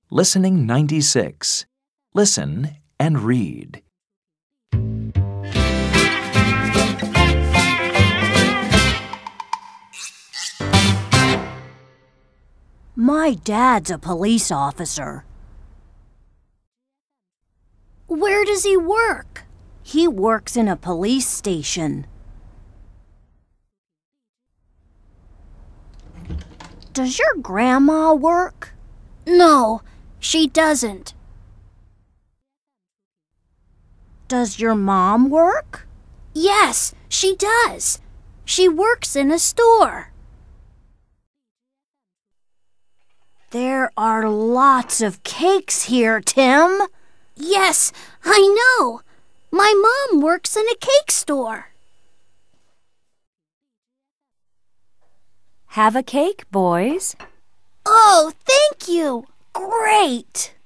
Listening 96. Listen and read. My dad's a police officer. Where does he work? He works in a police station. Does your grandma work? No, she doesn't. Does your mom work? Yes, she does. She works in a store. There are lots of cakes here, Tim. Yes, I know. My mom works in a cake store. Have a cake, boys. Oh, thank you. Great.